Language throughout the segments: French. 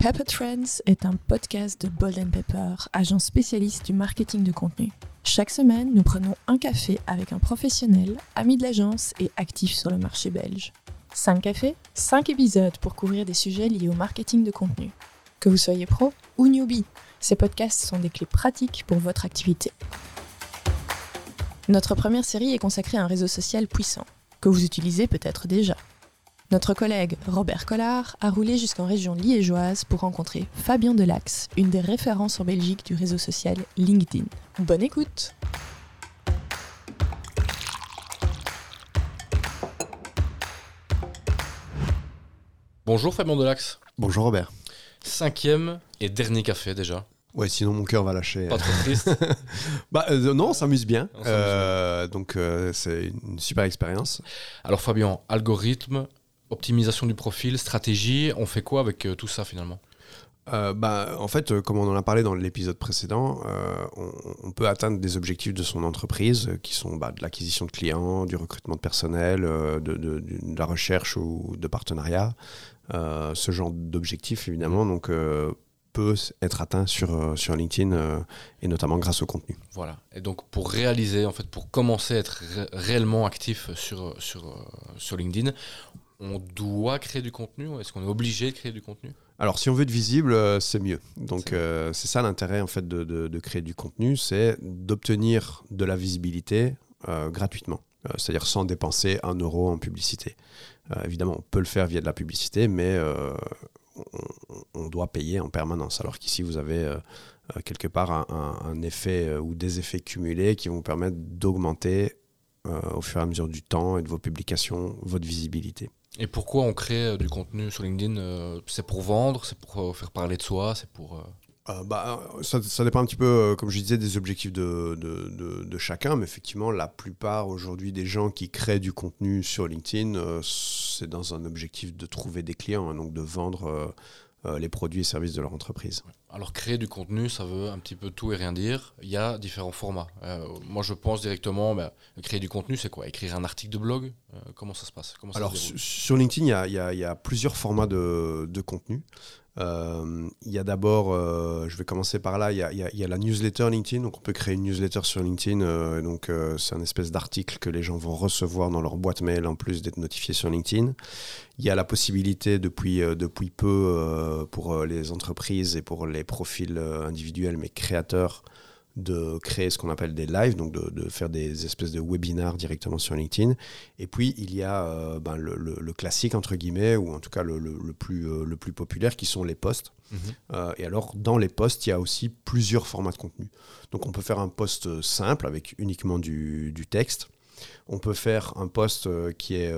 Pepper Trends est un podcast de Bold & Pepper, agence spécialiste du marketing de contenu. Chaque semaine, nous prenons un café avec un professionnel, ami de l'agence et actif sur le marché belge. 5 cafés, 5 épisodes pour couvrir des sujets liés au marketing de contenu. Que vous soyez pro ou newbie, ces podcasts sont des clés pratiques pour votre activité. Notre première série est consacrée à un réseau social puissant, que vous utilisez peut-être déjà. Notre collègue Robert Collard a roulé jusqu'en région liégeoise pour rencontrer Fabien Delax, une des références en Belgique du réseau social LinkedIn. Bonne écoute! Bonjour Fabien Delax. Bonjour Robert. 5e et dernier café déjà. Ouais, sinon mon cœur va lâcher. Pas trop triste. Non, on s'amuse bien. Donc c'est une super expérience. Alors Fabien, algorithme, optimisation du profil, stratégie, on fait quoi avec tout ça finalement ? En fait, comme on en a parlé dans l'épisode précédent, on peut atteindre des objectifs de son entreprise qui sont de l'acquisition de clients, du recrutement de personnel, de la recherche ou de partenariat. Ce genre d'objectifs, évidemment, donc, peut être atteint sur LinkedIn et notamment grâce au contenu. Voilà. Et donc pour réaliser, en fait, pour commencer à être réellement actif sur LinkedIn, on doit créer du contenu ou est-ce qu'on est obligé de créer du contenu ? Alors, si on veut être visible, c'est mieux. Donc, c'est ça l'intérêt en fait de créer du contenu, c'est d'obtenir de la visibilité gratuitement, c'est-à-dire sans dépenser 1 euro en publicité. Évidemment, on peut le faire via de la publicité, mais on doit payer en permanence. Alors qu'ici, vous avez quelque part un effet ou des effets cumulés qui vont vous permettre d'augmenter au fur et à mesure du temps et de vos publications, votre visibilité. Et pourquoi on crée du contenu sur LinkedIn ? C'est pour vendre, c'est pour faire parler de soi, c'est pour... Ça dépend un petit peu, comme je disais, des objectifs de chacun, mais effectivement, la plupart aujourd'hui des gens qui créent du contenu sur LinkedIn, c'est dans un objectif de trouver des clients, donc de vendre les produits et services de leur entreprise. Alors créer du contenu, ça veut un petit peu tout et rien dire. Il y a différents formats. Moi, je pense directement, créer du contenu, c'est quoi ? Écrire un article de blog ? Comment ça se passe ? Alors, sur LinkedIn, il y a plusieurs formats de contenu. Il y a d'abord, je vais commencer par là, il y a la newsletter LinkedIn, donc on peut créer une newsletter sur LinkedIn, c'est un espèce d'article que les gens vont recevoir dans leur boîte mail en plus d'être notifiés sur LinkedIn. Il y a la possibilité depuis peu pour les entreprises et pour les profils individuels mais créateurs de créer ce qu'on appelle des lives, donc de faire des espèces de webinars directement sur LinkedIn. Et puis, il y a le classique, entre guillemets, ou en tout cas le plus populaire, qui sont les posts. Et alors, dans les posts, il y a aussi plusieurs formats de contenu. Donc, on peut faire un post simple avec uniquement du texte. On peut faire un post qui est,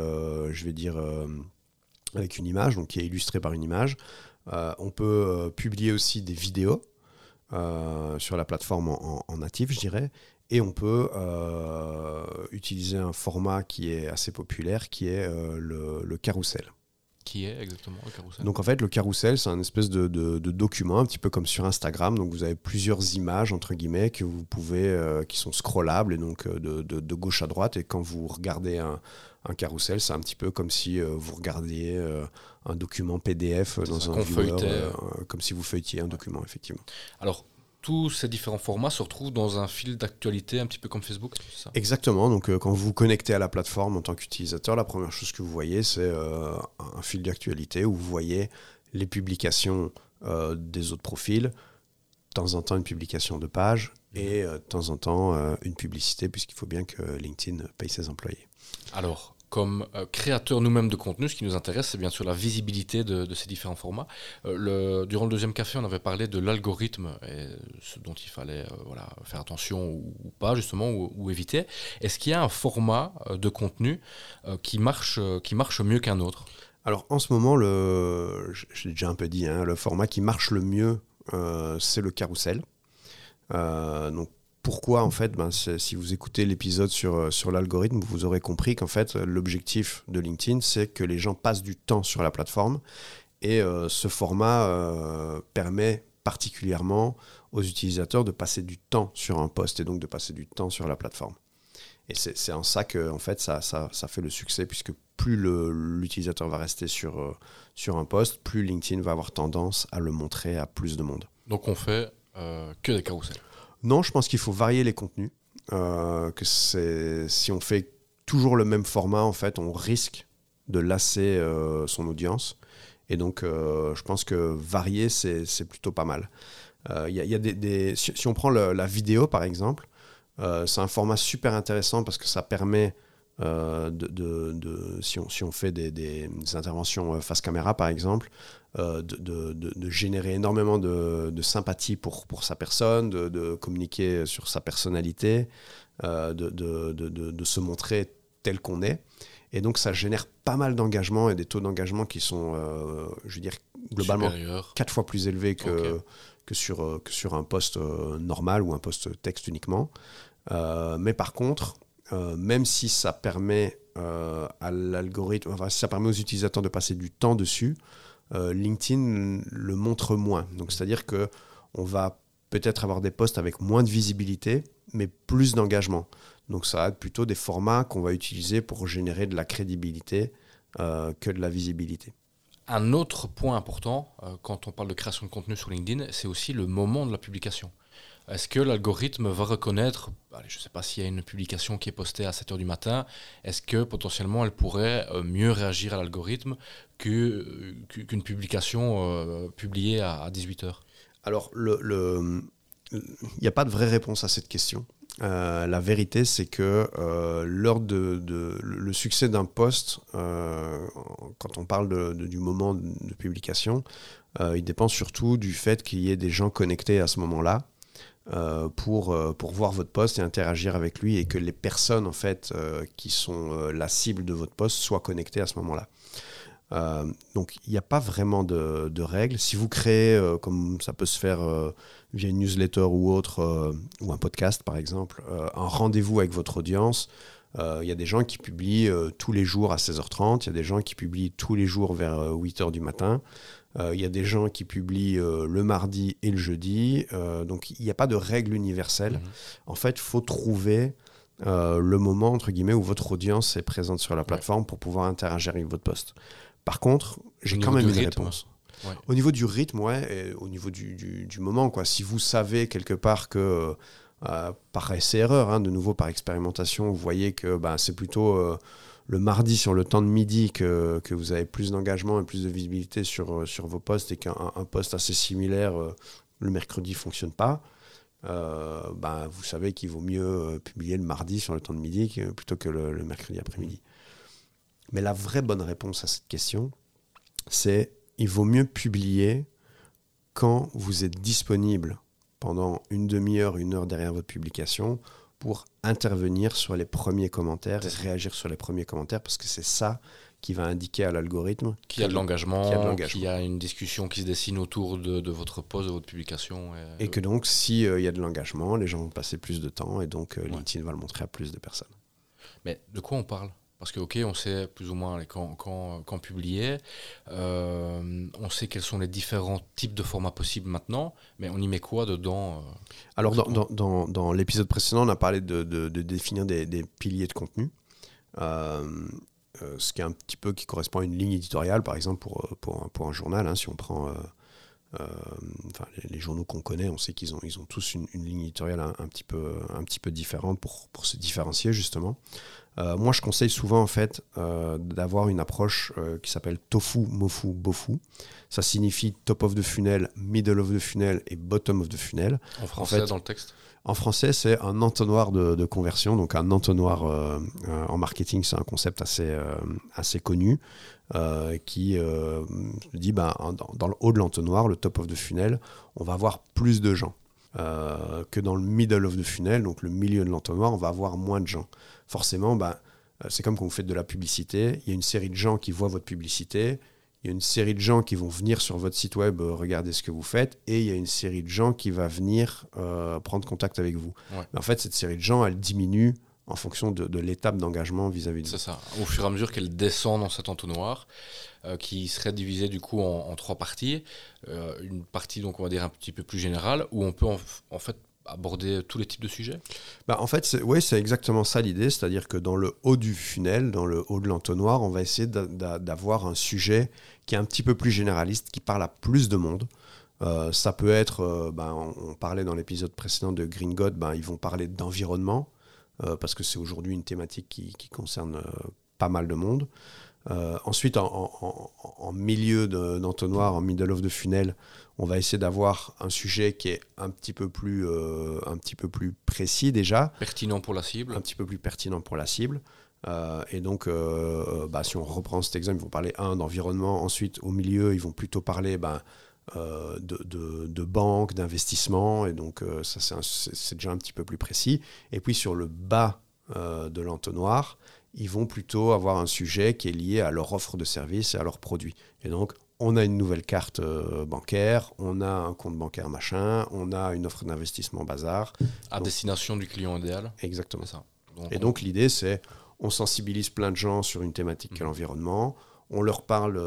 avec une image, donc qui est illustré par une image. On peut publier aussi des vidéos sur la plateforme en natif, je dirais, et on peut utiliser un format qui est assez populaire, qui est le carrousel. Qui est exactement le carrousel ? Donc en fait, le carrousel, c'est un espèce de document, un petit peu comme sur Instagram. Donc vous avez plusieurs images, entre guillemets, que vous pouvez, qui sont scrollables, et donc de gauche à droite. Et quand vous regardez un carrousel, c'est un petit peu comme si vous regardiez un document PDF dans un viewer, comme si vous feuilletiez un document, effectivement. Alors, tous ces différents formats se retrouvent dans un fil d'actualité, un petit peu comme Facebook, c'est ça ? Exactement. Donc, quand vous vous connectez à la plateforme en tant qu'utilisateur, la première chose que vous voyez, c'est un fil d'actualité où vous voyez les publications des autres profils, de temps en temps une publication de page et de temps en temps une publicité, puisqu'il faut bien que LinkedIn paye ses employés. Alors, comme créateurs nous-mêmes de contenu, ce qui nous intéresse, c'est bien sûr la visibilité de ces différents formats. Durant le deuxième café, on avait parlé de l'algorithme et ce dont il fallait faire attention ou pas, justement, ou éviter. Est-ce qu'il y a un format de contenu qui marche mieux qu'un autre ? Alors, en ce moment, je l'ai déjà un peu dit, le format qui marche le mieux, c'est le carrousel. Donc, pourquoi en fait si vous écoutez l'épisode sur l'algorithme, vous aurez compris qu'en fait l'objectif de LinkedIn, c'est que les gens passent du temps sur la plateforme, et ce format permet particulièrement aux utilisateurs de passer du temps sur un post et donc de passer du temps sur la plateforme. Et c'est en ça que en fait, ça fait le succès, puisque plus l'utilisateur va rester sur un post, plus LinkedIn va avoir tendance à le montrer à plus de monde. Donc on fait que des carousels. Non, je pense qu'il faut varier les contenus. Si on fait toujours le même format, en fait, on risque de lasser son audience. Et donc, je pense que varier, c'est plutôt pas mal. Si on prend la vidéo, par exemple, c'est un format super intéressant parce que ça permet, si on fait des interventions face caméra, par exemple, de générer énormément de sympathie pour sa personne, de communiquer sur sa personnalité, de se montrer tel qu'on est. Et donc, ça génère pas mal d'engagement et des taux d'engagement qui sont, je veux dire, globalement supérieur. 4 fois plus élevés que sur un post normal ou un post texte uniquement. Mais par contre, même si ça permet à l'algorithme, enfin, si ça permet aux utilisateurs de passer du temps dessus, LinkedIn le montre moins. Donc, c'est-à-dire qu'on va peut-être avoir des posts avec moins de visibilité, mais plus d'engagement. Donc, ça va être plutôt des formats qu'on va utiliser pour générer de la crédibilité que de la visibilité. Un autre point important, quand on parle de création de contenu sur LinkedIn, c'est aussi le moment de la publication. Est-ce que l'algorithme va reconnaître, je ne sais pas s'il y a une publication qui est postée à 7h du matin, est-ce que potentiellement elle pourrait mieux réagir à l'algorithme qu'une publication publiée à 18h? Alors, il n'y a pas de vraie réponse à cette question. La vérité, c'est que lors le succès d'un post, quand on parle du moment de publication, il dépend surtout du fait qu'il y ait des gens connectés à ce moment-là pour voir votre post et interagir avec lui, et que les personnes en fait, qui sont la cible de votre post soient connectées à ce moment-là. Donc il n'y a pas vraiment de règles. Si vous créez, comme ça peut se faire via une newsletter ou autre, ou un podcast par exemple, un rendez-vous avec votre audience, il y a des gens qui publient tous les jours à 16h30, il y a des gens qui publient tous les jours vers 8h du matin, il y a des gens qui publient le mardi et le jeudi, donc il n'y a pas de règle universelle. En fait, il faut trouver le moment, entre guillemets, où votre audience est présente sur la plateforme pour pouvoir interagir avec votre post. Par contre, j'ai quand même une réponse. Ouais. Au niveau du rythme, et au niveau du moment, quoi. Si vous savez quelque part que, par essai-erreur, de nouveau par expérimentation, vous voyez que c'est plutôt le mardi sur le temps de midi que vous avez plus d'engagement et plus de visibilité sur vos posts, et qu'un post assez similaire le mercredi ne fonctionne pas, vous savez qu'il vaut mieux publier le mardi sur le temps de midi plutôt que le mercredi après-midi. Mais la vraie bonne réponse à cette question, c'est il vaut mieux publier quand vous êtes disponible pendant une demi-heure, 1 heure derrière votre publication pour intervenir sur les premiers commentaires et réagir sur les premiers commentaires, parce que c'est ça qui va indiquer à l'algorithme qu'il y a de l'engagement, qu'il y a une discussion qui se dessine autour de votre post, de votre publication. Et que donc, s'il y a de l'engagement, les gens vont passer plus de temps, et donc LinkedIn va le montrer à plus de personnes. Mais de quoi on parle ? Parce que, on sait plus ou moins quand publier, on sait quels sont les différents types de formats possibles maintenant, mais on y met quoi dedans Alors, dans l'épisode précédent, on a parlé de définir des piliers de contenu, ce qui est un petit peu qui correspond à une ligne éditoriale, par exemple, pour un journal. Si on prend les journaux qu'on connaît, on sait qu'ils ont tous une ligne éditoriale un petit peu différente pour se différencier, justement. Moi, je conseille souvent en fait d'avoir une approche qui s'appelle tofu, mofu, bofu. Ça signifie top of the funnel, middle of the funnel et bottom of the funnel. En français, dans le texte ? En français, c'est un entonnoir de conversion. Donc un entonnoir en marketing, c'est un concept assez connu qui dit dans le haut de l'entonnoir, le top of the funnel, on va avoir plus de gens. Que dans le middle of the funnel, donc le milieu de l'entonnoir, on va avoir moins de gens. Forcément, c'est comme quand vous faites de la publicité, il y a une série de gens qui voient votre publicité, il y a une série de gens qui vont venir sur votre site web regarder ce que vous faites, et il y a une série de gens qui va venir prendre contact avec vous. Ouais. Mais en fait, cette série de gens, elle diminue en fonction de l'étape d'engagement vis-à-vis de vous. C'est ça. Au fur et à mesure qu'elle descend dans cet entonnoir, qui serait divisé du coup en 3 parties. Une partie, donc on va dire un petit peu plus générale, où on peut en fait aborder tous les types de sujets ? En fait, c'est exactement ça l'idée, c'est-à-dire que dans le haut du funnel, dans le haut de l'entonnoir, on va essayer d'avoir un sujet qui est un petit peu plus généraliste, qui parle à plus de monde. Ça peut être, on parlait dans l'épisode précédent de Green God, ils vont parler d'environnement, parce que c'est aujourd'hui une thématique qui concerne pas mal de monde. Ensuite, en milieu d'entonnoir, en middle of the funnel, on va essayer d'avoir un sujet qui est un petit peu plus précis déjà. Pertinent pour la cible. Un petit peu plus pertinent pour la cible. Et donc, si on reprend cet exemple, ils vont parler d'environnement. Ensuite, au milieu, ils vont plutôt parler de banque, d'investissement. Et donc, ça, c'est déjà un petit peu plus précis. Et puis, sur le bas de l'entonnoir, ils vont plutôt avoir un sujet qui est lié à leur offre de service et à leurs produits. Et donc, on a une nouvelle carte bancaire, on a un compte bancaire machin, on a une offre d'investissement bazar. À destination du client idéal. Exactement. C'est ça. Donc, l'idée, c'est on sensibilise plein de gens sur une thématique qu'est l'environnement, on leur parle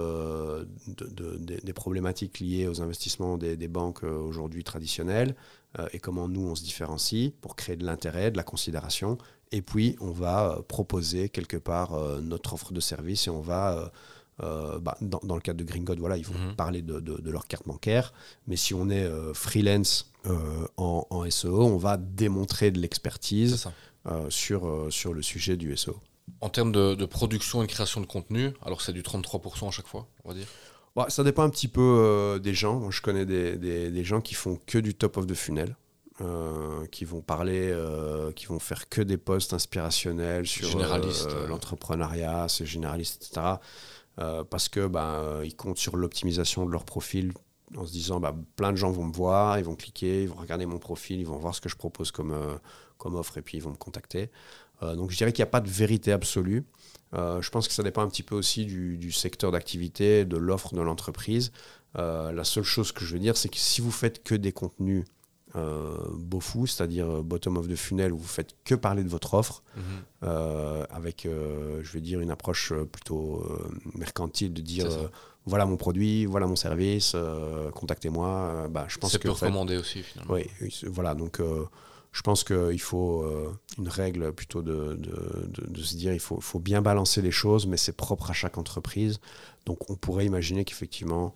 des problématiques liées aux investissements des banques aujourd'hui traditionnelles et comment nous, on se différencie pour créer de l'intérêt, de la considération. Et puis, on va proposer quelque part notre offre de service et on va, dans le cadre de Green God, ils vont parler de leur carte bancaire. Mais si on est freelance en SEO, on va démontrer de l'expertise sur le sujet du SEO. En termes de production et de création de contenu, alors c'est du 33% à chaque fois, on va dire ? Ça dépend un petit peu des gens. Moi, je connais des gens qui font que du top of the funnel. Qui vont parler, qui vont faire que des posts inspirationnels sur l'entrepreneuriat, c'est généraliste, etc. Parce que ils comptent sur l'optimisation de leur profil en se disant plein de gens vont me voir, ils vont cliquer, ils vont regarder mon profil, ils vont voir ce que je propose comme offre et puis ils vont me contacter. Donc je dirais qu'il n'y a pas de vérité absolue. Je pense que ça dépend un petit peu aussi du secteur d'activité, de l'offre de l'entreprise. La seule chose que je veux dire, c'est que si vous faites que des contenus BOFU, c'est-à-dire bottom of the funnel, où vous faites que parler de votre offre, avec, je vais dire, une approche plutôt mercantile, de dire voilà mon produit, voilà mon service, contactez-moi. Je pense c'est peu recommandé aussi, finalement. Oui, voilà, donc je pense qu'il faut une règle plutôt de se dire il faut bien balancer les choses, mais c'est propre à chaque entreprise. Donc on pourrait imaginer qu'effectivement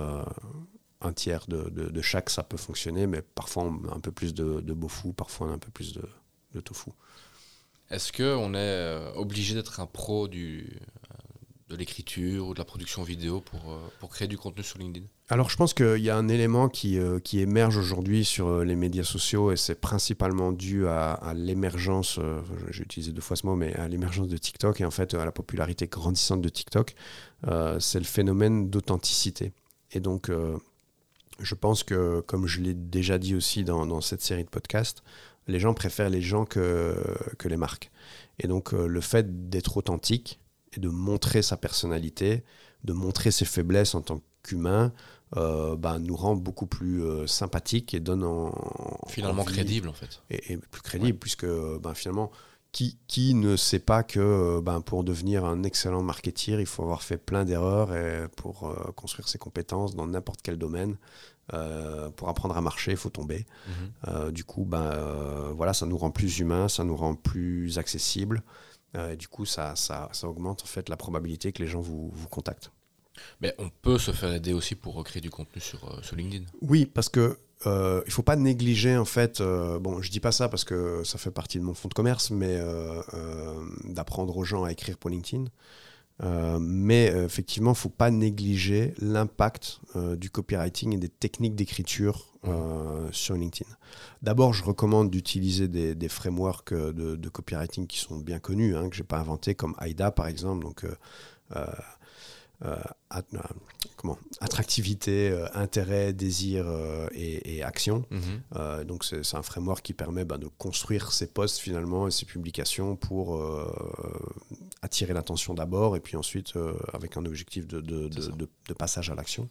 un tiers de chaque, ça peut fonctionner, mais parfois on a un peu plus de BOFU, parfois on a un peu plus de tofu. Est-ce qu'on est obligé d'être un pro de l'écriture ou de la production vidéo pour créer du contenu sur LinkedIn ? Alors je pense qu'il y a un élément qui émerge aujourd'hui sur les médias sociaux et c'est principalement dû à l'émergence, j'ai utilisé 2 fois ce mot, mais à l'émergence de TikTok et en fait à la popularité grandissante de TikTok, c'est le phénomène d'authenticité. Et donc je pense que, comme je l'ai déjà dit aussi dans cette série de podcasts, les gens préfèrent les gens que les marques. Et donc, le fait d'être authentique et de montrer sa personnalité, de montrer ses faiblesses en tant qu'humain, nous rend beaucoup plus sympathiques et donne finalement crédible, en fait. Et plus crédible, puisque finalement, qui ne sait pas que pour devenir un excellent marketeur, il faut avoir fait plein d'erreurs et pour construire ses compétences dans n'importe quel domaine. Pour apprendre à marcher, il faut tomber. Du coup, ça nous rend plus humains, ça nous rend plus accessibles. Et du coup, ça augmente en fait la probabilité que les gens vous contactent. Mais on peut se faire aider aussi pour recréer du contenu sur LinkedIn. Oui, parce que il faut pas négliger en fait. Je dis pas ça parce que ça fait partie de mon fonds de commerce, mais d'apprendre aux gens à écrire pour LinkedIn. Mais effectivement, il ne faut pas négliger l'impact du copywriting et des techniques d'écriture sur LinkedIn. D'abord, je recommande d'utiliser des frameworks de copywriting qui sont bien connus, que je n'ai pas inventés, comme AIDA par exemple. Donc, attractivité, intérêt, désir et action. Donc c'est un framework qui permet de construire ses posts finalement et ses publications pour attirer l'attention d'abord et puis ensuite avec un objectif de passage à l'action.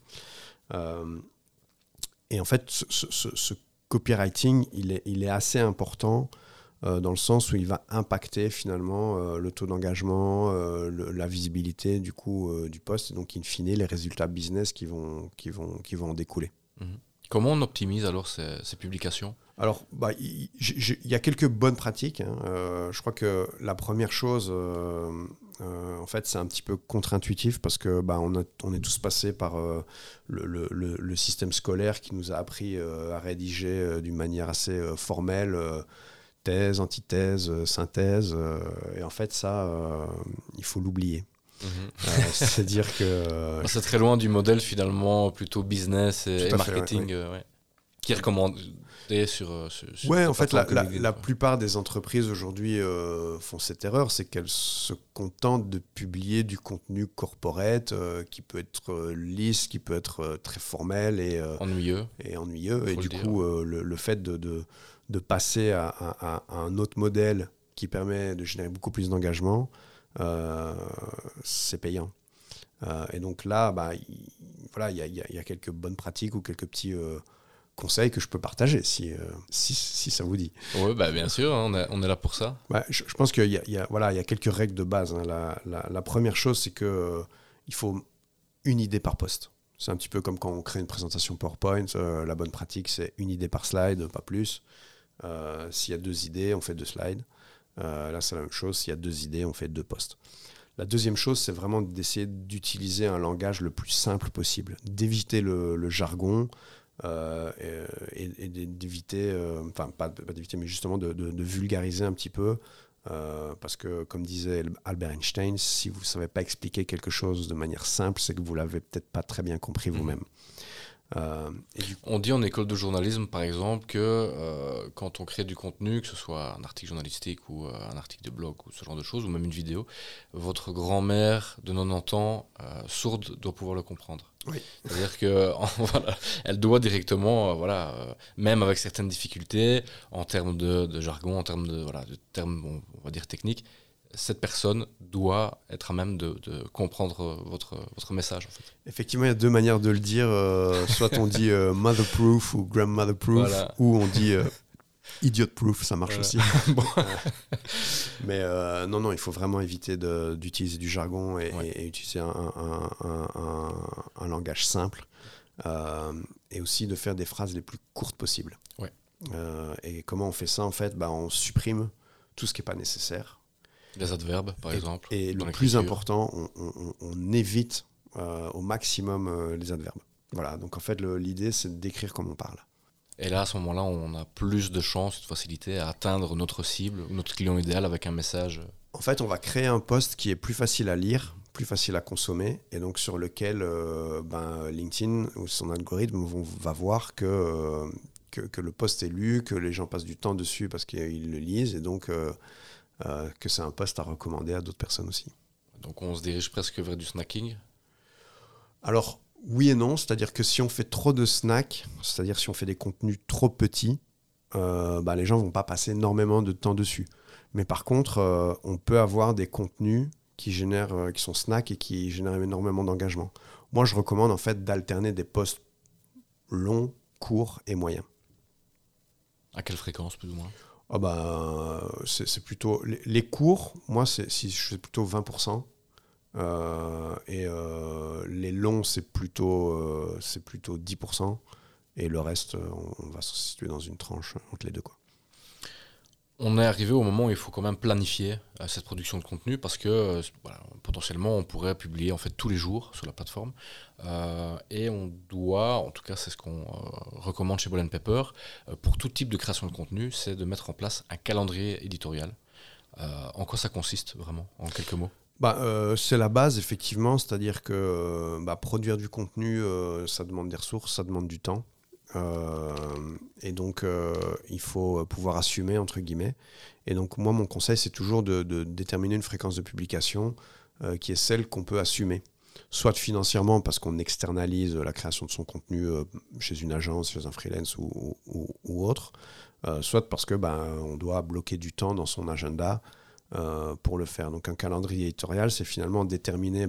Et en fait ce copywriting il est assez important dans le sens où il va impacter finalement le taux d'engagement, la visibilité du post, et donc in fine les résultats business qui vont en découler. Comment on optimise alors ces publications ? Alors, il y a quelques bonnes pratiques. Je crois que la première chose, en fait, c'est un petit peu contre-intuitif parce que on est tous passés par le système scolaire qui nous a appris à rédiger d'une manière assez formelle, thèse, antithèse, synthèse. Et en fait, ça, il faut l'oublier. C'est-à-dire que... c'est très loin du modèle finalement plutôt business et marketing qui est recommandé sur ouais, en fait, la plupart des entreprises aujourd'hui font cette erreur, c'est qu'elles se contentent de publier du contenu corporate qui peut être lisse, qui peut être très formel et ennuyeux. Et du coup, le fait de passer à un autre modèle qui permet de générer beaucoup plus d'engagement, c'est payant. Et donc là, il y a quelques bonnes pratiques ou quelques petits conseils que je peux partager si ça vous dit. Oui, bien sûr, on est là pour ça. Je pense qu'il y a quelques règles de base. La première chose, c'est qu'il faut une idée par poste. C'est un petit peu comme quand on crée une présentation PowerPoint. La bonne pratique, c'est une idée par slide, pas plus. S'il y a 2 idées, on fait 2 slides. Là, c'est la même chose. S'il y a 2 idées, on fait 2 posts. La deuxième chose, c'est vraiment d'essayer d'utiliser un langage le plus simple possible, d'éviter le jargon et d'éviter, pas d'éviter, mais justement de vulgariser un petit peu. Parce que, comme disait Albert Einstein, si vous ne savez pas expliquer quelque chose de manière simple, c'est que vous ne l'avez peut-être pas très bien compris vous-même. On dit en école de journalisme, par exemple, que quand on crée du contenu, que ce soit un article journalistique ou un article de blog ou ce genre de choses, ou même une vidéo, votre grand-mère de 90 ans, sourde, doit pouvoir le comprendre. Oui. C'est-à-dire que elle doit directement, même avec certaines difficultés, en termes de jargon, en termes de termes, on va dire techniques, cette personne doit être à même de comprendre votre message. En fait. Effectivement, il y a 2 manières de le dire. Soit on dit mother-proof ou grandmother-proof, ou on dit idiot-proof, ça marche aussi. Mais non, il faut vraiment éviter d'utiliser du jargon et utiliser un langage simple. Et aussi de faire des phrases les plus courtes possibles. Ouais. Et comment on fait ça, en fait ? On supprime tout ce qui n'est pas nécessaire. Les adverbes, par exemple. Et le plus important, on évite au maximum les adverbes. Voilà, donc en fait, l'idée, c'est d'écrire comme on parle. Et là, à ce moment-là, on a plus de chances, de facilité à atteindre notre cible, notre client idéal avec un message. En fait, on va créer un post qui est plus facile à lire, plus facile à consommer, et donc sur lequel LinkedIn ou son algorithme va voir que le post est lu, que les gens passent du temps dessus parce qu'ils le lisent, et donc... que c'est un post à recommander à d'autres personnes aussi. Donc on se dirige presque vers du snacking ? Alors, oui et non. C'est-à-dire que si on fait trop de snacks, c'est-à-dire si on fait des contenus trop petits, les gens ne vont pas passer énormément de temps dessus. Mais par contre, on peut avoir des contenus qui sont snacks et qui génèrent énormément d'engagement. Moi, je recommande en fait d'alterner des posts longs, courts et moyens. À quelle fréquence, plus ou moins ? C'est plutôt les cours, moi si je fais plutôt 20%, et les longs c'est plutôt 10%, et le reste on va se situer dans une tranche entre les deux, quoi. On est arrivé au moment où il faut quand même planifier cette production de contenu parce que potentiellement on pourrait publier en fait tous les jours sur la plateforme et on doit, en tout cas c'est ce qu'on recommande chez Ball & Pepper, pour tout type de création de contenu, c'est de mettre en place un calendrier éditorial. En quoi ça consiste vraiment, en quelques mots ? C'est la base effectivement, c'est-à-dire que produire du contenu ça demande des ressources, ça demande du temps. Et donc il faut pouvoir assumer entre guillemets, et donc moi mon conseil c'est toujours de déterminer une fréquence de publication qui est celle qu'on peut assumer, soit financièrement parce qu'on externalise la création de son contenu chez une agence, chez un freelance ou autre, soit parce que on doit bloquer du temps dans son agenda pour le faire. Donc un calendrier éditorial, c'est finalement déterminer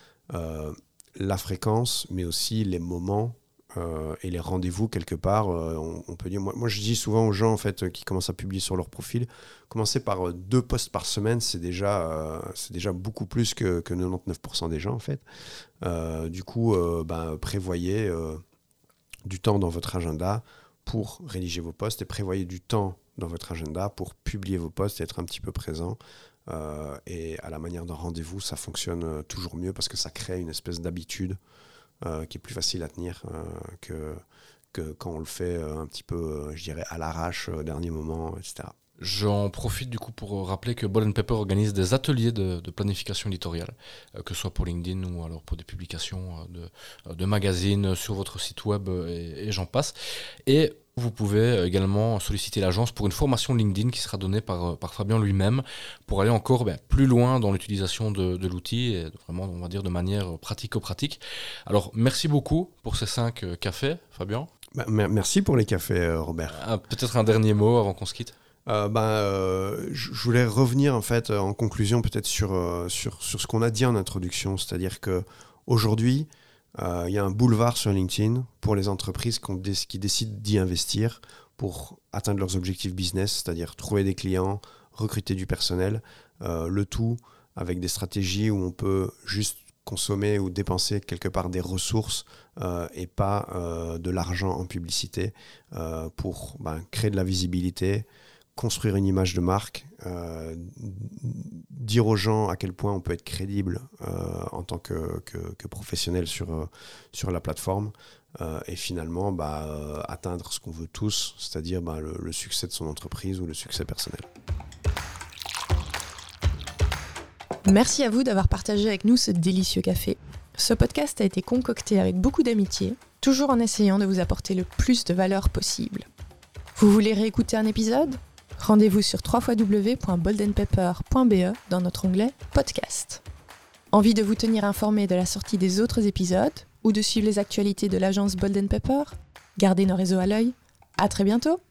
la fréquence mais aussi les moments et les rendez-vous quelque part. On peut dire, moi je dis souvent aux gens en fait qui commencent à publier sur leur profil, commencer par 2 posts par semaine, c'est déjà beaucoup plus que 99% des gens en fait. Du coup, prévoyez du temps dans votre agenda pour rédiger vos posts et prévoyez du temps dans votre agenda pour publier vos posts et être un petit peu présent. Et à la manière d'un rendez-vous, ça fonctionne toujours mieux parce que ça crée une espèce d'habitude qui est plus facile à tenir que quand on le fait un petit peu, je dirais, à l'arrache, au dernier moment, etc. J'en profite du coup pour rappeler que Bold & Pepper organise des ateliers de planification éditoriale, que ce soit pour LinkedIn ou alors pour des publications de magazines sur votre site web et j'en passe. Et vous pouvez également solliciter l'agence pour une formation LinkedIn qui sera donnée par Fabien lui-même pour aller encore plus loin dans l'utilisation de l'outil et vraiment, on va dire, de manière pratico-pratique. Alors, merci beaucoup pour ces 5 cafés, Fabien. Merci pour les cafés, Robert. Peut-être un dernier mot avant qu'on se quitte. Je voulais revenir en fait en conclusion peut-être sur ce qu'on a dit en introduction, c'est-à-dire que aujourd'hui il y a un boulevard sur LinkedIn pour les entreprises qui décident d'y investir pour atteindre leurs objectifs business, c'est-à-dire trouver des clients, recruter du personnel, le tout avec des stratégies où on peut juste consommer ou dépenser quelque part des ressources et pas de l'argent en publicité pour créer de la visibilité, construire une image de marque, dire aux gens à quel point on peut être crédible en tant que professionnel sur la plateforme et finalement atteindre ce qu'on veut tous, c'est-à-dire le succès de son entreprise ou le succès personnel. Merci à vous d'avoir partagé avec nous ce délicieux café. Ce podcast a été concocté avec beaucoup d'amitié, toujours en essayant de vous apporter le plus de valeur possible. Vous voulez réécouter un épisode ? Rendez-vous sur www.boldandpepper.be dans notre onglet Podcast. Envie de vous tenir informé de la sortie des autres épisodes ou de suivre les actualités de l'agence Bold & Pepper ? Gardez nos réseaux à l'œil. À très bientôt!